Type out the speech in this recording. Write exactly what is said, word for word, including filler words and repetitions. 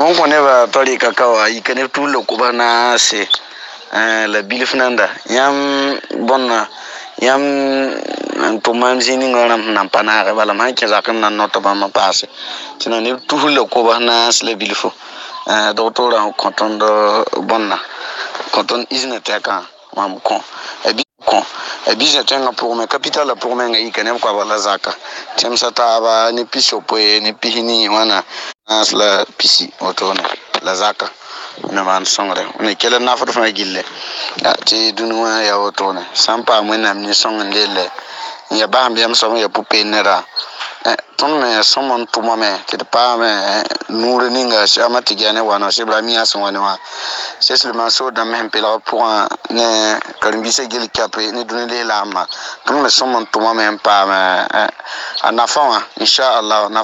on connaît va parler cacao, il connaît tout le kubana, c'est la bilifnanda. Yam bon, yam to mam zini ngana nampana, voilà, man qui a comme notre maman passe. Tu n'as tout le kubana, c'est le bilifo. Docteur en canton de Bonna, canton Isneteka, mam con. Et bien, con. Et bien, j'ai un pour mes capitales pour mes gaïs, qui n'aiment pas la zaka. Tiens, ça t'a ni pisopo, ni pihini, wana, la pisi, autone, la zaka. Ne man songre, ne kele na foto fa gille. Ti dunwa ya autone. Sampa mwena ni songndele. Ya ba mbiam so ya pupe nera. Ton me somon tuma me ti pa me nure ninga shama tigane wana shebra mi aso wana wa c'est seulement so dans même pela pour ne kalimbise gel kapre ne dunele lama ton me somon tuma me pa me anafa inshallah na